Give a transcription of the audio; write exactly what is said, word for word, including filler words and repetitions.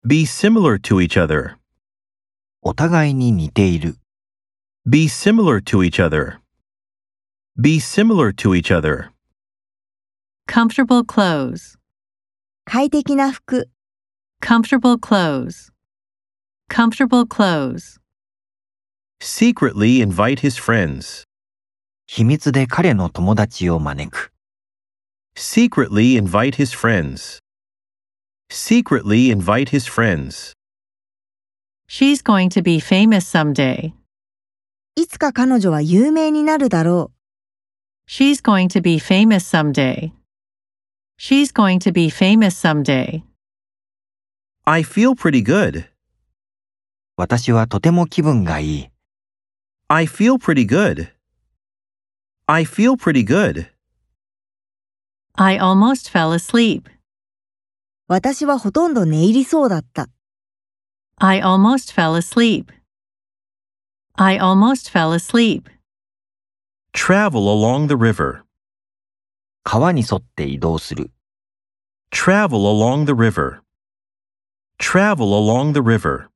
Be similar to each other. お互いに似ている。 Be similar to each other. Be similar to each other. Comfortable clothes. 快適な服。 Comfortable clothes. Comfortable clothes. Secretly invite his friends. 秘密で彼の友達を招く。 Secretly invite his friends. Secretly invite his friends. She's going to be famous someday. いつか彼女は有名になるだろ She's going to be famous someday. She's going to be famous someday. I feel pretty good. 私はとても気分がいい。 I feel pretty good. I feel pretty good. I almost fell asleep. う。私はほとんど寝入りそうだった。 I almost fell asleep. I almost fell asleep. Travel along the river. 川に沿って移動する。 Travel along the river. Travel along the river.